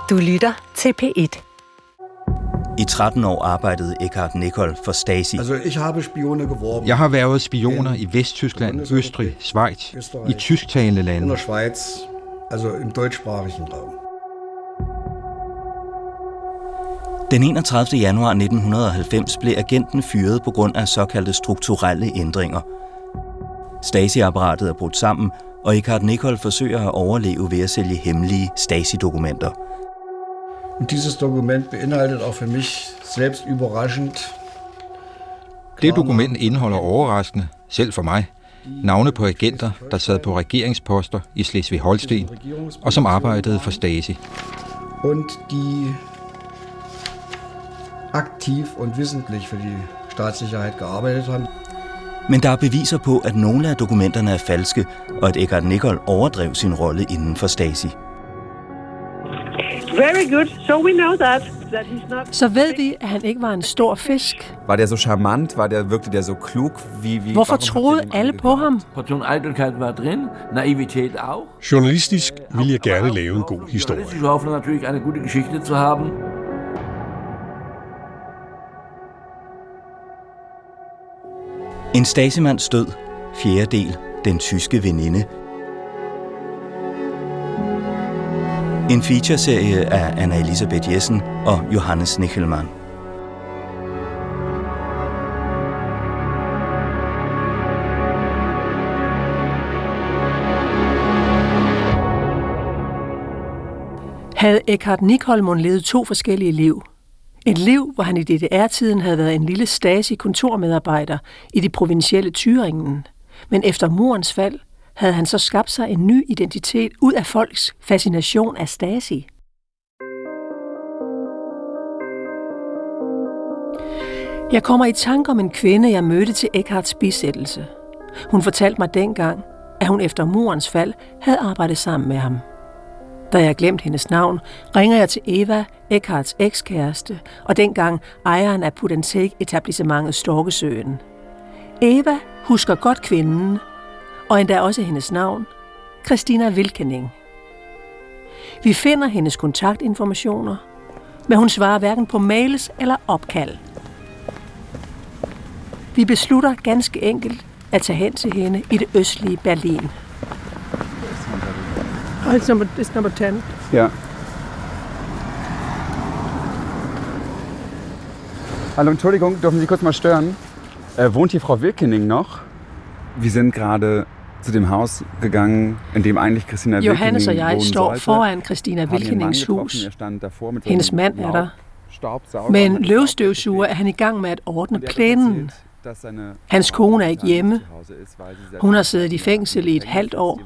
Du lytter til P1. I 13 år arbejdede Eckhard Nicholl for Stasi. Jeg har været spioner i Vesttyskland, Østrig, Schweiz, i tysktalende lande. In der Schweiz, also im deutschsprachigen Raum. Den 31. januar 1990 blev agenten fyret på grund af såkaldte strukturelle ændringer. Stasi-apparatet er brudt sammen, og Eckhard Nicholl forsøger at overleve ved at sælge hemmelige Stasi-dokumenter. Dieses Dokument beinhaltet auch für mich selbst überraschend. Det dokument indeholder overraskende, selv for mig, navne på agenter, der sad på regeringsposter i Slesvig-Holsten og som arbejdede for Stasi. Und die aktiv und wissentlich für die Staatssicherheit gearbeitet haben. Men der er beviser på, at nogle af dokumenterne er falske, og at Eckhard Nicholl overdrev sin rolle inden for Stasi. Very good. So we know that he's not. Så ved vi, at han ikke var en stor fisk. Var der så charmant? Virkte der så klug? Hvorfor troede alle på ham? Portion Eitelkeit var drin, Naivität auch. Journalistisk ville jeg gerne lave en god historie. Ich hoffe natürlich eine gute Geschichte zu haben. En Stasi-mands død. 4. del. Den tyske veninde. En featureserie af Anna Elisabeth Jessen og Johannes Nichelmann. Havde Eckhard Nicholl levet 2 forskellige liv. Et liv, hvor han i DDR-tiden havde været en lille Stasi-kontormedarbejder i det provinsielle Thüringen. Men efter murens fald havde han så skabt sig en ny identitet ud af folks fascination af Stasi. Jeg kommer i tanke om en kvinde, jeg mødte til Eckhards bisættelse. Hun fortalte mig dengang, at hun efter murens fald havde arbejdet sammen med ham. Da jeg glemt hendes navn, ringer jeg til Eva, Eckhards ekskæreste, og dengang ejeren af Put&Take-etablissementet Storkesøen. Eva husker godt kvinden, og endda også hendes navn, Christina Wilkening. Vi finder hendes kontaktinformationer, men hun svarer hverken på mails eller opkald. Vi beslutter ganske enkelt at tage hen til hende i det østlige Berlin. It's number 10. Ja. Hallo, Entschuldigung, dürfen Sie kurz mal stören? Wohnt hier Frau Wilkening noch? Wir sind gerade zu dem Haus gegangen, in dem eigentlich Christina Wilkening Johannes og jeg står foran Christina Wilkenings hus. Hendes mand er der. Med en løvstøvsuger er han i gang med at ordne plænen. Hans kone er ikke hjemme. Hun har siddet i fængsel i et halvt år.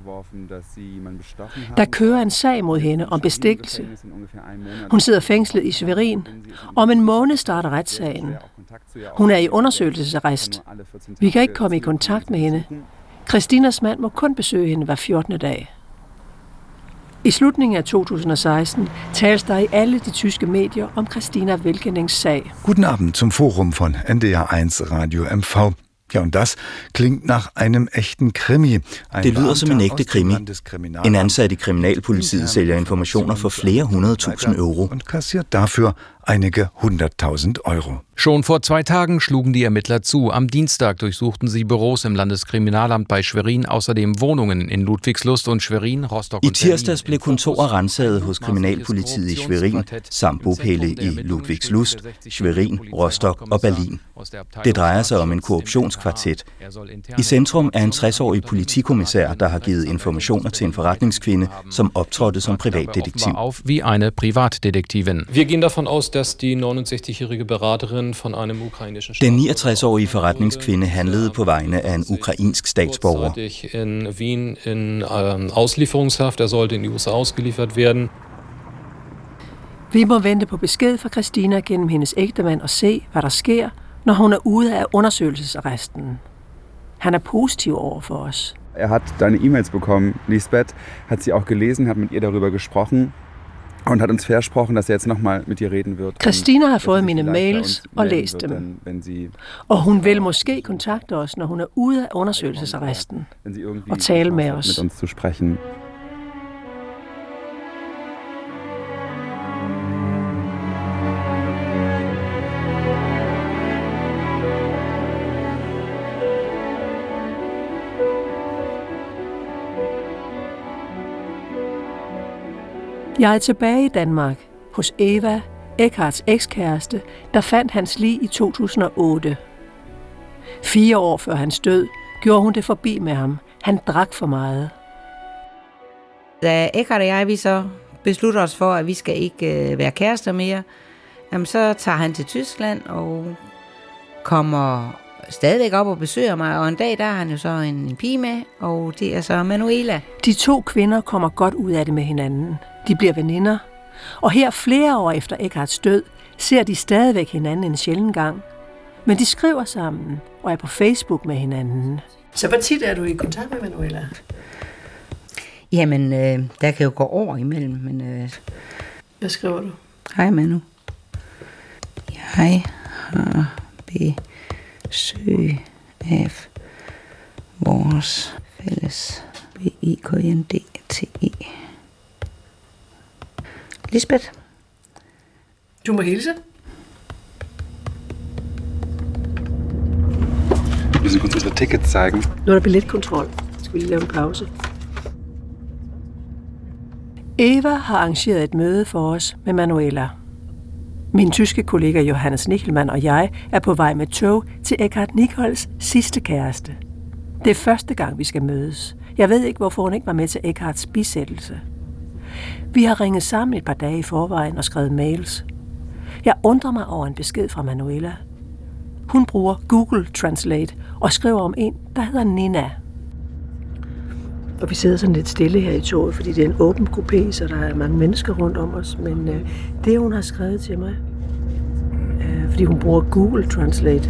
Der kører en sag mod hende om bestikkelse. Hun sidder fængslet i Schwerin. Om en måned starter retssagen. Hun er i undersøgelsesarrest. Vi kan ikke komme i kontakt med hende. Christinas mand må kun besøge hende hver 14. dag. I slutningen af 2016 tales der i alle de tyske medier om Christina Wilkenings sag. Guten Abend zum Forum von NDR1 Radio MV. Ja, und das klingt nach einem echten Krimi. Det lyder som en ægte krimi. En ansat i kriminalpolitiet sælger informationer for flere 100.000 euro. Und kassiert dafür einige 100.000 Euro. Schon vor 2 Tagen schlugen die Ermittler zu. Am Dienstag durchsuchten sie Büros im Landeskriminalamt bei Schwerin, außerdem Wohnungen in Ludwigslust und Schwerin, Rostock I und Berlin. tirsdags blev kontorer renset hos kriminalpolitiet i Schwerin, samt bopæle i Ludwigslust, Schwerin, Rostock og Berlin. Det drejer sig om en korruptionskvartet. I centrum er en 60-årig politikommissær, der har givet informationer til en forretningskvinde, som optrådte som privatdetektiv. Auf wie eine Privatdetektivin. Wir gehen davon aus, dass die 69-jährige Beraterin von einem ukrainischen Den 69-årige forretningskvinde handlede på vegne af en ukrainsk statsborger. in Wien in Auslieferungshaft. Sollte in die USA ausgeliefert werden. Vi må vente på besked fra Christina gennem hendes ægtemand og se, hvad der sker, når hun er ude af undersøgelsesarresten. Han er positiv over for os. Hat deine E-Mails bekommen. Lisbeth hat sie auch gelesen, hat mit ihr darüber gesprochen und hat uns versprochen, dass jetzt nochmal mit ihr reden wird. Christina har fået mine mails og læst dem. Og hun vil måske kontakte os, når hun er ude af undersøgelsesarresten og tale med os. Mit uns zu sprechen. Jeg er tilbage i Danmark hos Eva, Eckarts ekskæreste, der fandt hans lig i 2008. 4 år før hans død gjorde hun det forbi med ham. Han drak for meget. Da Eckart og jeg, vi så beslutter os for, at vi skal ikke være kærester mere, jamen så tager han til Tyskland og kommer stadigvæk op og besøger mig. Og en dag, der har han jo så en pige med, og det er så Manuela. De 2 kvinder kommer godt ud af det med hinanden. De bliver veninder. Og her flere år efter Eckarts død, ser de stadigvæk hinanden en sjælden gang. Men de skriver sammen og er på Facebook med hinanden. Så hvor tit er du i kontakt med Manuela? Jamen, der kan jo gå år imellem, men... Hvad skriver du? Hej Manu. Jeg har besøg af vores fælles BIKNDTI. Lisbeth. Du må hilse. Wir müssen kurz unsere Tickets zeigen. Nu er der billetkontrol. Skal vi lige lave en pause? Eva har arrangeret et møde for os med Manuela. Min tyske kollega Johannes Nichelmann og jeg er på vej med tog til Eckhart Nichols sidste kæreste. Det er første gang, vi skal mødes. Jeg ved ikke, hvorfor hun ikke var med til Eckharts bisættelse. Vi har ringet sammen et par dage i forvejen og skrevet mails. Jeg undrer mig over en besked fra Manuela. Hun bruger Google Translate og skriver om en, der hedder Nina. Og vi sidder sådan lidt stille her i toget, fordi det er en åben kupé, så der er mange mennesker rundt om os. Men det, hun har skrevet til mig, fordi hun bruger Google Translate.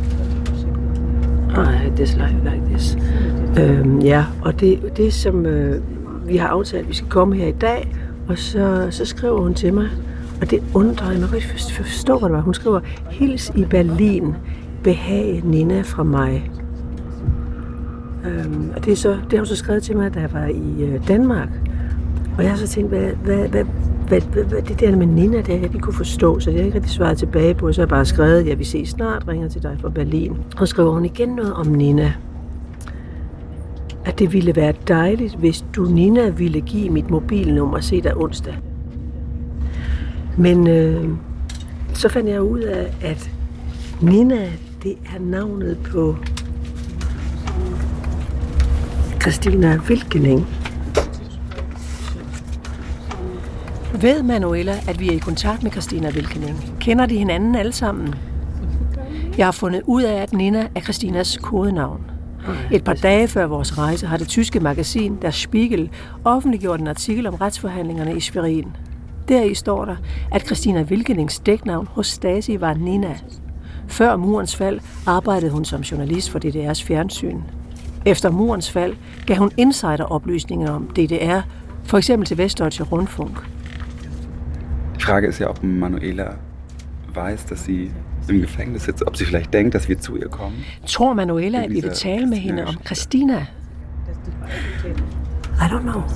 I dislike like this. Ja, og det som vi har aftalt, vi skal komme her i dag, og så skriver hun til mig, og det undrer mig, man kan ikke forstå, hvad det var. Hun skriver, hils i Berlin, behag Nina fra mig. Og det har hun så skrevet til mig, da jeg var i Danmark. Og jeg har så tænkt, hvad det der med Nina, det jeg ikke kunne forstå, så jeg har ikke rigtig svaret tilbage på. Så har jeg bare skrevet, ja, vi ses snart, ringer til dig fra Berlin. Og skriver hun igen noget om Nina. At det ville være dejligt, hvis du, Nina, ville give mit mobilnummer og se dig onsdag. Men så fandt jeg ud af, at Nina, det er navnet på Christina Wilkening. Ved Manuela, at vi er i kontakt med Christina Wilkening? Kender de hinanden alle sammen? Jeg har fundet ud af, at Nina er Christinas kodenavn. Et par dage før vores rejse har det tyske magasin Der Spiegel offentliggjort en artikel om retsforhandlingerne i Schwerin. Deri står der, at Christina Wilkenings dæknavn hos Stasi var Nina. Før murens fald arbejdede hun som journalist for DDR's fjernsyn. Efter murens fald gav hun insideroplysninger om DDR, for eksempel til Westdeutsche Rundfunk. Die Frage ist ja, ob Manuela weiß, dass sie im Gefängnis sitzt, ob sie vielleicht denkt, dass wir zu ihr kommen. Tror Manuela, at vi vil tale med hende om Christina? I don't know.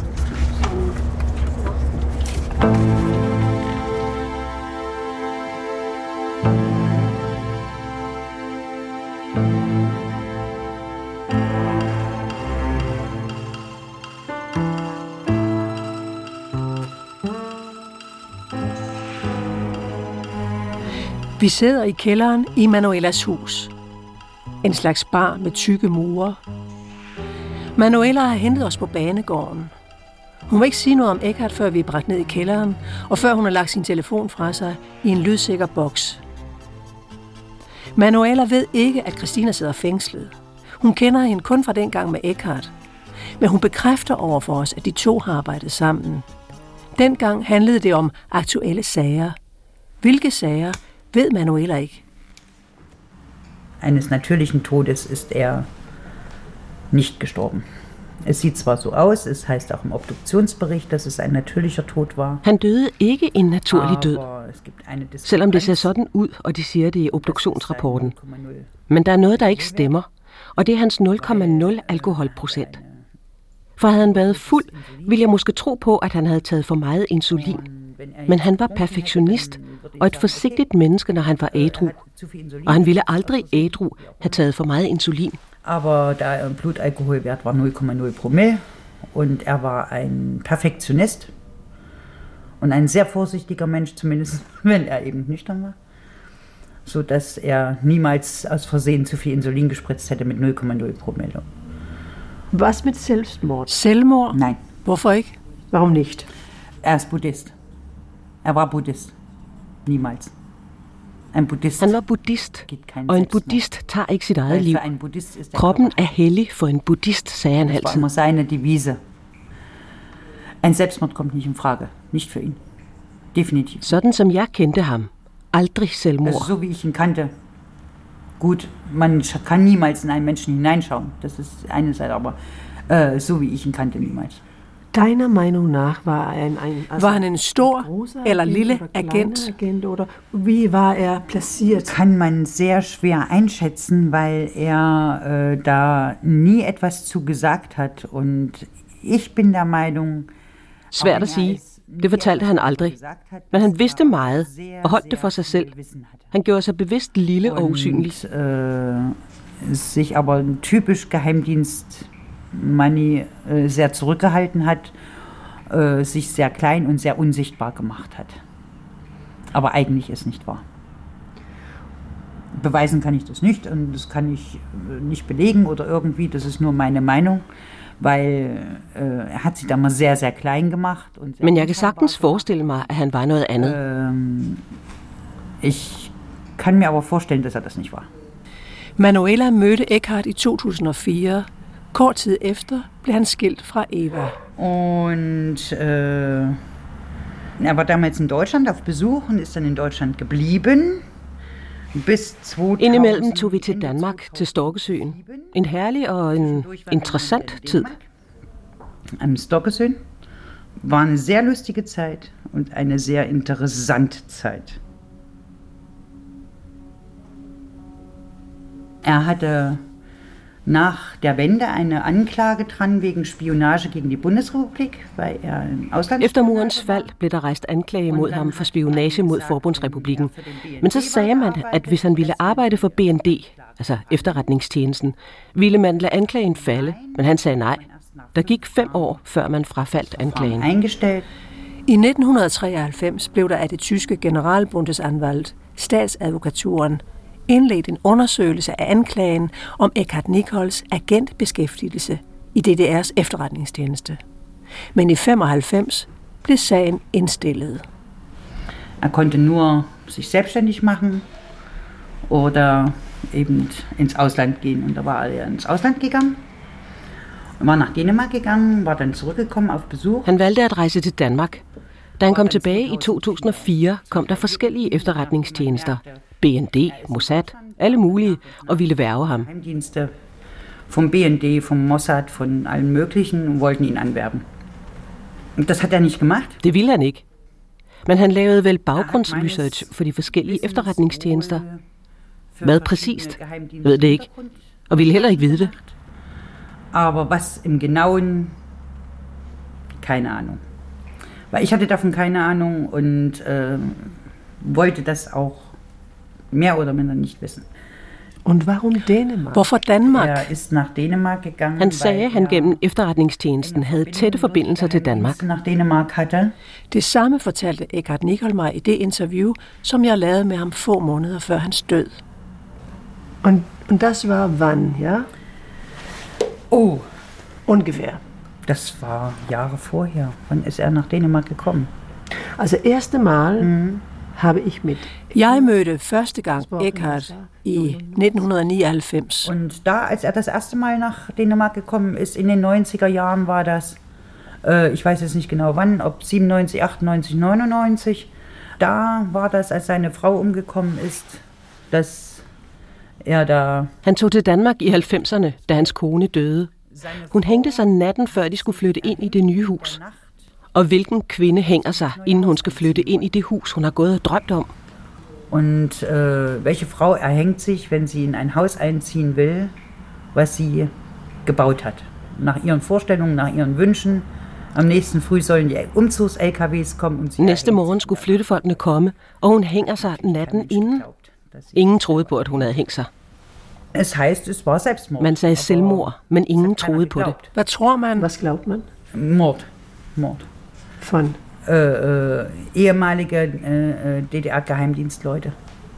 Vi sidder i kælderen i Manuelas hus. En slags bar med tykke mure. Manuela har hentet os på banegården. Hun vil ikke sige noget om Eckhart, før vi er bragt ned i kælderen, og før hun har lagt sin telefon fra sig i en lydsikker boks. Manuela ved ikke, at Christina sidder fængslet. Hun kender hende kun fra dengang med Eckhart. Men hun bekræfter over for os, at de 2 har arbejdet sammen. Dengang handlede det om aktuelle sager. Hvilke sager ved Manuela ikke. Eines natürlichen Todes ist nicht gestorben. Es sieht zwar so aus, es heißt auch im Obduktionsbericht, dass es ein natürlicher Tod war. Han døde ikke en naturlig død, selvom det ser sådan ud, og de siger det i obduktionsrapporten. Men der er noget, der ikke stemmer, og det er hans 0,0 alkoholprocent. For havde han været fuld, ville jeg måske tro på, at han havde taget for meget insulin. Men han var perfektionist og et forsigtigt menneske, når han var ædru. Og han ville aldrig ædru have taget for meget insulin. Aber der Blutalkoholwert war 0,0 Promille und war ein Perfektionist. Und ein sehr vorsichtiger Mensch, zumindest wenn er eben nüchtern war. Sodass er niemals aus Versehen zu viel Insulin gespritzt hätte mit 0,0 Promille. Was mit Selbstmord? Selvmord? Nein. Hvorfor ikke? Warum nicht? Er ist Buddhist. Er var buddhist. Niemals. En buddhist. Han var buddhist, og en buddhist tager ikke sit eget liv. Kroppen er hellig for en buddhist, sagde han altid. Das war immer seine Devise. Ein Selbstmord kommt nicht in Frage. Nicht für ihn. Definitiv. Sådan som jeg kendte ham. Aldrig selvmord. Also so wie ich ihn kannte. Gut, man kann niemals in einen Menschen hineinschauen. Das ist eine Seite, aber so wie ich ihn kannte, niemals. Deiner Meinung nach var han en stor eller lille agent? Oder wie war er platziert? Kann man sehr schwer einschätzen, weil er da nie etwas zu gesagt hat. Und ich bin der Meinung... Svært at sige. Det fortalte han aldrig. Men han vidste meget og holdt det for sig selv. Han gjorde sig bevidst lille og usynlig. Sich aber typisch Geheimdienstmanni sehr zurückgehalten hat, sich sehr klein und sehr unsichtbar gemacht hat. Aber eigentlich ist nicht wahr. Beweisen kann ich das nicht und das kann ich nicht belegen oder irgendwie, das ist nur meine Meinung. Weil er hat sich da mal sehr, sehr klein gemacht. Und men jeg kan sagtens forestille mig, at han var noget andet. Ich kann mir aber vorstellen, dass er das nicht war. Manuela mødte Eckhart i 2004. Kort tid efter blev han skilt fra Eva. Und er war damals in Deutschland auf Besuch und ist dann in Deutschland geblieben. Indimellem tog vi til Danmark, til Storkesøen. En herlig og en interessant tid. Am Storkesøen war eine sehr lustige Zeit und eine sehr interessante Zeit. Er hatte nach der Wende eine Anklage dran wegen Spionage gegen die Bundesrepublik, weil er im Ausland... Efter murens fald blev der rejst anklage mod ham for spionage mod Forbundsrepublikken. Men så sagde man, at hvis han ville arbejde for BND, altså efterretningstjenesten, ville man lade anklagen falde, men han sagde nej. Der gik 5 år, før man frafaldt anklagen. I 1993 blev der af det tyske Generalbundesanwalt, statsadvokaturen, indledt en undersøgelse af anklagen om Eckhart Nichols agentbeskæftigelse i DDR's efterretningstjeneste. Men i 1995 blev sagen indstillet. Er konnte nur sich selbstständig machen oder eben ins Ausland gehen. Und da war er ins Ausland gegangen, war nach Dänemark gegangen, war dann zurückgekommen auf Besuch. Han valgte at rejse til Danmark. Da han kom tilbage i 2004, kom der forskellige efterretningstjenester. BND, Mossad, alle mulige, og ville værge ham. Geheimdienste vom BND, vom Mossad, von allen möglichen, wollten ihn anwerben. Das hat er nicht gemacht. Det ville han ikke. Men han lavede vel baggrundsresearch for de forskellige efterretningstjenester. Hvad præcist? Jeg ved det ikke. Og ville heller ikke vide det. Aber was im Genauen? Keine Ahnung. Weil ich hatte davon keine Ahnung und wollte das auch mehr oder minder nicht wissen. Und warum Dänemark? Hvorfor Danmark? Er ist nach Dänemark gegangen. Han sagde, at han gennem efterretningstjenesten havde tætte forbindelser til Danmark. Nach Dänemark hatte. Det samme fortalte Eckhart Nicholl mig i det interview, som jeg lavede med ham få måneder før hans død. Und das war wann, ja? Oh, ungefähr. Das war Jahre vorher. Wann ist er nach Dänemark gekommen? Also erste Mal habe ich mit. Jeg mødte første gang Eckhart i 1999. Und da, als er das erste Mal nach Dänemark gekommen ist, in den 90er Jahren war das, ich weiß jetzt nicht genau wann, ob 97, 98, 99, da war das, als seine Frau umgekommen ist, dass er da... Han tog til Danmark i 90'erne, da hans kone døde. Hun hængte sig natten, før de skulle flytte ind i det nye hus. Og hvilken kvinde hænger sig, inden hun skal flytte ind i det hus, hun har gået og drømt om? Und welche Frau erhängt sich, wenn sie in ein Haus einziehen will, was sie gebaut hat? Nach ihren Vorstellungen, nach ihren Wünschen. Am nächsten Früh sollen die Umzugs-LKWs kommen. Und næste morgen skulle flyttefolkene komme, og hun hænger sig natten inden. Ingen troede på, at hun havde hængt sig. Es heißt, es war Selbstmord. Man sagde selvmord, men ingen troede på det. Hvad tror man? Was glaubt man? Mord. Von? ehemalige DDR-Geheimdienstleute.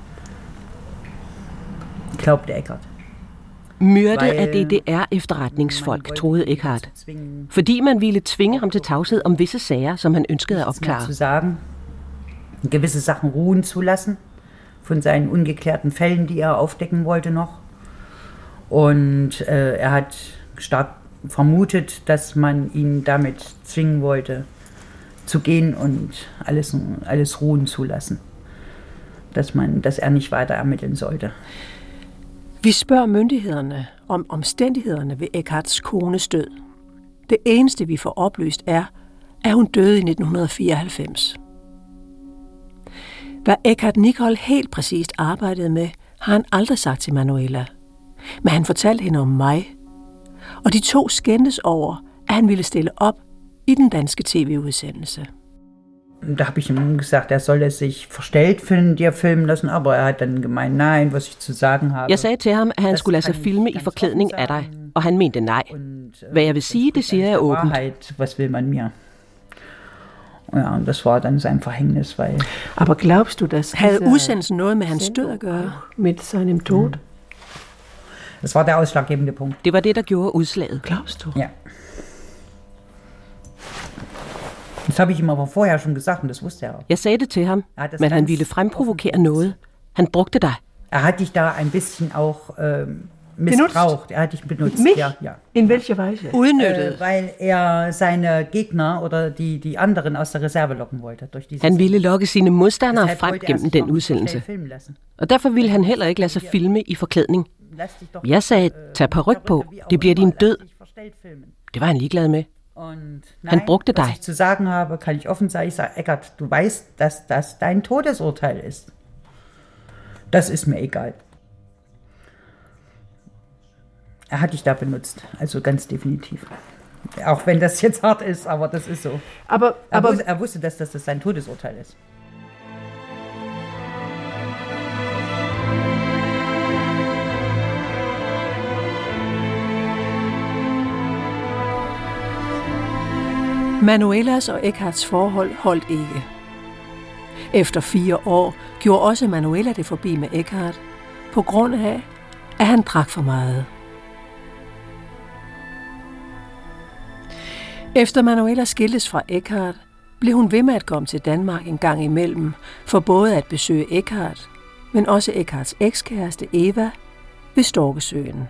Glaubte Eckart. Myrde af DDR-efterretningsfolk, troede Eckart. Fordi man ville tvinge ham til tavshed om visse sager, som han ønskede at opklare. Zu sagen, gewisse Sachen ruhen zu lassen, von seinen ungeklärten Fällen, die aufdecken wollte noch. Und hat stark vermutet, dass man ihn damit zwingen wollte, zu gehen und alles ruhen zu lassen. Dass er nicht weiter ermitteln sollte. Vi spørger myndighederne om omstændighederne ved Eckarts kones død. Det eneste, vi får oplyst, er, at hun døde i 1994. Hvad Eckart Nicoll helt præcist arbejdede med, har han aldrig sagt til Manuela. Men han fortalte hende om mig, og de to skændtes over, at han ville stille op i den danske tv-udsendelse. Da habe ich ihm gesagt, soll sich verstellt filmen lassen, aber hat dann gemeint, nein, was ich zu sagen habe. Jeg sagde til ham, at han skulle lade sig filme i forklædning af dig, og han mente nej. Hvad jeg vil sige, det siger jeg åbent. Was will man mir? Ja, und das war dann sein Verhängnis, weil... Aber glaubst du, dass havde udsendelsen noget med hans død at gøre? Mit seinem Tod? Das war der ausschlaggebende Punkt. Det var det, der gjorde udslaget. Glaubst du? Ja. Das habe ich ihm aber vorher schon gesagt, und das wusste er auch. Jeg sagde det til ham, men han ville fremprovokere noget. Han brugte dig. Hat dich da ein bisschen auch missbraucht. Hat dich benutzt. Mich? Ja. In welcher Weise? Udnyttet. Weil seine Gegner oder die anderen aus der Reserve locken wollte. Durch diese han ville lokke sine modstandere frem gennem den udsendelse. Og derfor ville han heller ikke lade sig filme i forklædning. Jeg sagde, tag paryk på, det bliver din død. Det var han ligeglad med. Han brugte dig. Was ich zu sagen habe, kann ich offen sagen. Ich sage, Eckart, du weißt, dass das dein Todesurteil ist. Das ist mir egal. Hat dich da benutzt, also ganz definitiv. Auch wenn das jetzt hart ist, aber das ist so. Aber er wusste, dass das sein Todesurteil ist. Manuelas og Eckarts forhold holdt ikke. Efter 4 år gjorde også Manuela det forbi med Eckart, på grund af, at han drak for meget. Efter Manuela skiltes fra Eckart, blev hun ved med at komme til Danmark en gang imellem, for både at besøge Eckart, men også Eckarts ekskæreste Eva ved Storkesøen.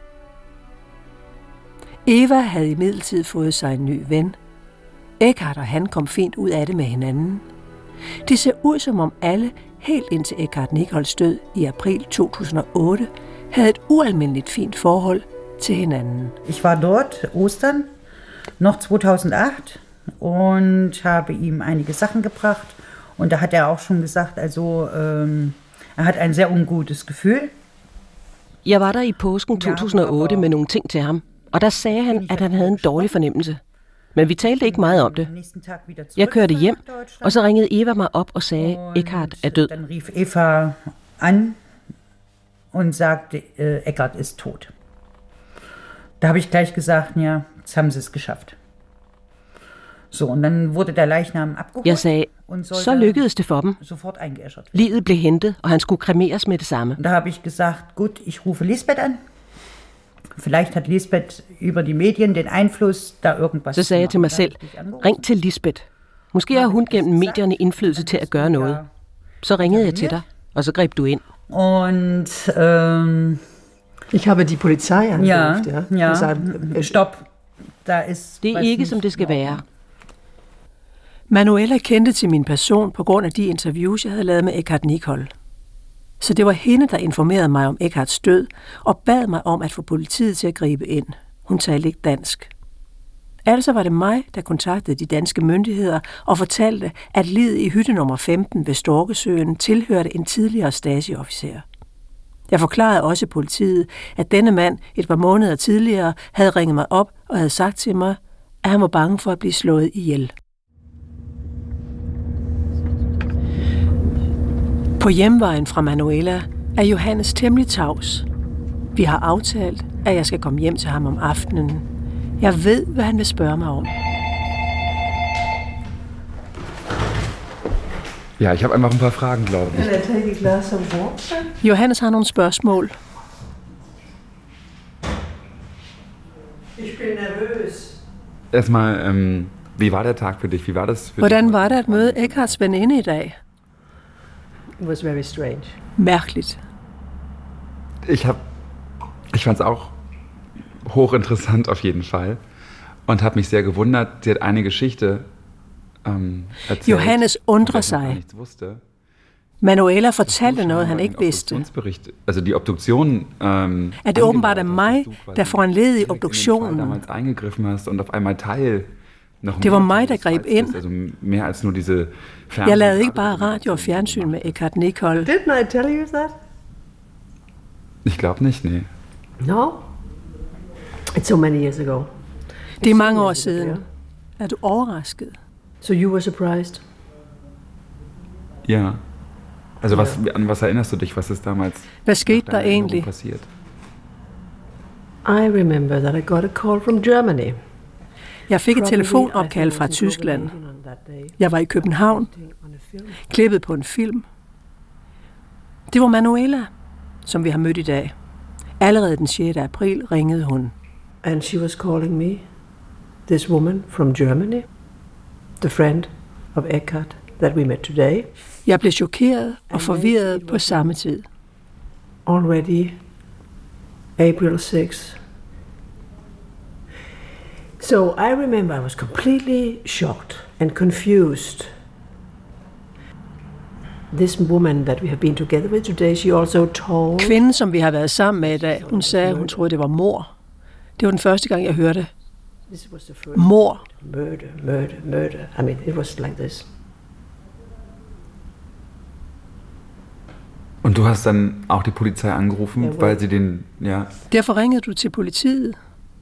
Eva havde imidlertid fået sig en ny ven. Eckart og han kom fint ud af det med hinanden. Det ser ud som om alle, helt indtil Eckart Nicolls død i april 2008, havde et ualmindeligt fint forhold til hinanden. Ich war dort Ostern noch 2008 und habe ihm einige Sachen gebracht und da hat er auch schon gesagt, also er hat ein sehr ungutes Gefühl. Jeg var der i påsken 2008 med nogle ting til ham, og der sagde han, at han havde en dårlig fornemmelse. Men vi talte ikke meget om det. Jeg kørte hjem, og så ringede Eva mig op og sagde, at Eckart er død. Dann rief Eva an und sagte, Eckart ist tot. Da habe ich gleich gesagt, ja, jetzt haben sie es geschafft. So, und dann wurde der Leichnam abgeholt. Jeg sagde, så lykkedes det for dem. Sofort eingeäschert. Liget blev hentet, og han skulle kremeres med det samme. Da habe ich gesagt, gut, ich rufe Lisbeth an. Vielleicht hat Lisbeth über die Medien den Einfluss, da irgendwas. Så sagde jeg til mig selv, ring til Lisbeth. Måske har hun gennem medierne indflydelse til at gøre noget. Så ringede jeg til dig, og så greb du ind. Und ich habe die Polizei angerufen. Ja. Gesagt, stopp. Da ist det er ikke, som det skal være. Manuela kendte til min person på grund af de interviews, jeg havde lavet med Eckart Nicoll. Så det var hende, der informerede mig om Eckarts død og bad mig om at få politiet til at gribe ind. Hun talte ikke dansk. Altså var det mig, der kontaktede de danske myndigheder og fortalte, at liget i hytte nummer 15 ved Storkesøen tilhørte en tidligere Stasi-officer. Jeg forklarede også politiet, at denne mand et par måneder tidligere havde ringet mig op og havde sagt til mig, at han var bange for at blive slået ihjel. På hjemvejen fra Manuela er Johannes temmelig tavs. Vi har aftalt, at jeg skal komme hjem til ham om aftenen. Jeg ved, hvad han vil spørge mig om. Ja, ich habe einfach ein paar Fragen, glaube ich. Can I take a glass of water? Johannes har nogle spørgsmål. Ich bin nervøs. Erstmal, wie war der Tag für dich? Wie war das für Hvordan dich? var det at møde Eckarts veninde i dag? It was very strange. Mærkeligt. Ich fand es auch hochinteressant auf jeden Fall und habe mich sehr gewundert. Sie hat eine Geschichte erzählt. Johannes undrer sig. Manuela fortalte noget, han ikke vidste. Also die Obduktion, at det åbenbart er mig, der foranledigede obduktionen. damals eingegriffen hast und auf einmal Teil Det var mig, der greb ind. Also mehr als nur diese Jeg lavede ikke bare radio og fjernsyn med Eckhart Nicol. Didn't I tell you that? Ich glaube nicht, nee. No. It's so many years ago. Det er mange år siden. Er du overrasket? So you were surprised? Ja. Also an was erinnerst du dich, was ist damals Hvad skete der egentlig? passiert? I remember that I got a call from Germany. Jeg fik et telefonopkald fra Tyskland. Jeg var i København, klippet på en film. Det var Manuela, som vi har mødt i dag. Allerede den 6. april ringede hun. And she was calling me, this woman from Germany, the friend of Eckhart that we met today. Jeg blev chokeret og forvirret på samme tid. Already April 6. So I remember I was completely shocked and confused. This woman that we have been together with today, she also told... Kvinden, som vi har været sammen med i dag, hun sagde, hun troede, det var mord. Det var den første gang, jeg hørte mord. Murder. I mean, it was like this. Und du hast dann auch die Polizei angerufen, weil sie den, ja... Derfor ringede du til politiet.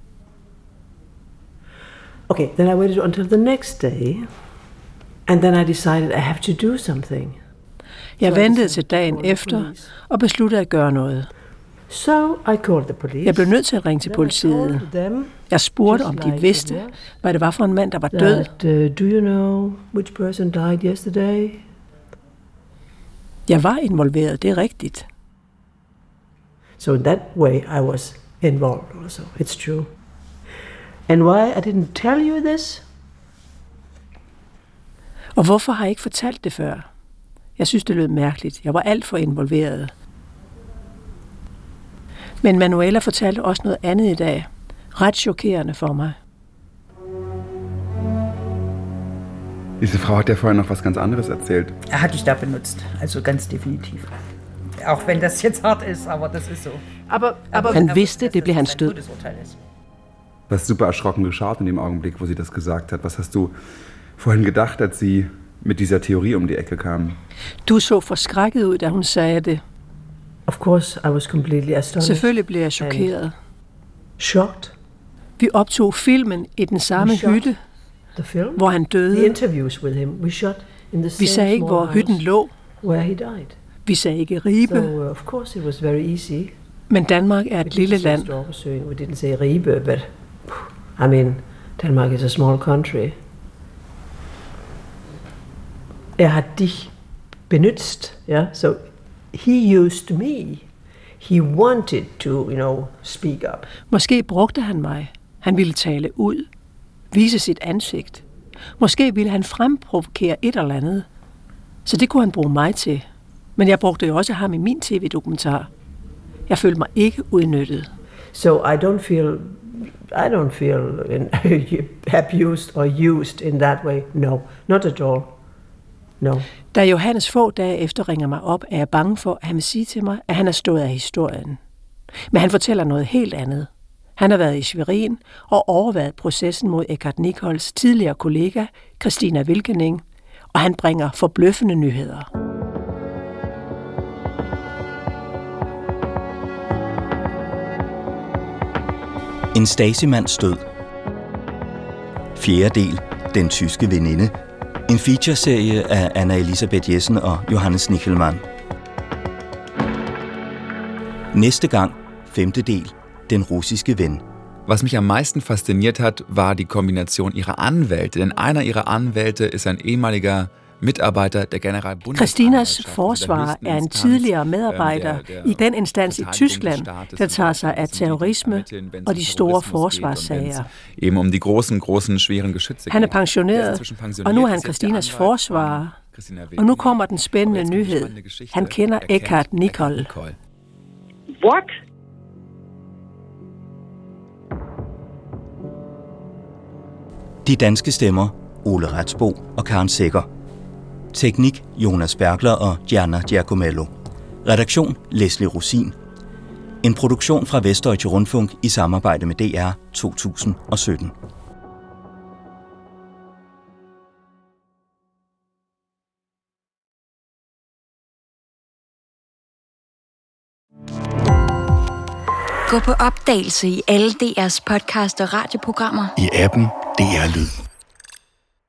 Okay, then I waited until the next day, and then I decided I have to do something. Jeg ventede til dagen efter og besluttede at gøre noget. So I called the police. Jeg blev nødt til at ringe til politiet. Jeg spurgte, om de vidste, hvad det var for en mand, der var død. Do you know which person died yesterday? Jeg var involveret, det er rigtigt. So in that way I was involved also. It's true. And why I didn't tell you this? Og hvorfor har jeg ikke fortalt det før? Jeg synes, det lød mærkeligt. Jeg var alt for involveret. Men Manuela fortalte også noget andet i dag. Ret chokerende for mig. Diese Frau hat ja vorher noch was ganz anderes erzählt. Hatte ich da benutzt, also ganz definitiv. Auch wenn das jetzt hart ist, aber das ist so. Aber han vidste, det blev hans død. Du hast super erschrocken geschaut in dem Augenblick, wo sie das gesagt hat. Was hast du vorhin gedacht, als sie mit dieser Theorie um die Ecke kam? Du så forskrækket ud, da hun sagde det. Of course, I was completely astonished. Selvfølgelig blev jeg chokeret. Shocked. Vi optog filmen i den samme hytte, hvor han døde. The interviews with him, we shot in the same Vi sagde ikke, hvor hytten lå. Where he died. Vi sagde ikke Ribe. So of course it was very easy. Men Danmark er et lille land. We didn't say Ribe, but I mean, Denmark is a small country. Har dich benutzt, ja? So he used me. He wanted to, speak up. Måske brugte han mig. Han ville tale ud, vise sit ansigt. Måske ville han fremprovokere et eller andet. Så det kunne han bruge mig til. Men jeg brugte jo også ham i min tv-dokumentar. Jeg følte mig ikke udnyttet. So I don't feel abused or used in that way. No, not at all. No. Da Johannes få dage efter ringer mig op, er jeg bange for, at han vil sige til mig, at han er stået af historien. Men han fortæller noget helt andet. Han har været i Schwerin og overværet processen mod Eckhart Nicols tidligere kollega, Christina Wilkening, og han bringer forbløffende nyheder. En Stasi-mands død. 4. del. Den tyske veninde. En featureserie af Anna Elisabeth Jessen og Johannes Nichelmann. Næste gang, 5. del. Den russiske ven. Was mich am meisten fasziniert hat, war die Kombination ihrer Anwälte. Denn einer ihrer Anwälte ist ein ehemaliger Mitarbeiter der Generalbundesanwaltschaft. Christinas forsvarer er en tidligere medarbejder i den instans i Tyskland, der tager sig af terrorisme og de store forsvarssager. Eben um die großen, schweren Geschütze. Han er pensioneret, og nu er han Christinas forsvarer. Og nu kommer den spændende nyhed. Han kender Eckhard Nicoll. What? De danske stemmer, Ole Retsbo og Karen Sækker. Teknik, Jonas Bergler og Gianna Giacomello. Redaktion, Leslie Rosin. En produktion fra Vestdeutsche Rundfunk i samarbejde med DR 2017. Gå på opdagelse i alle DR's podcast og radioprogrammer. I appen DR Lyd.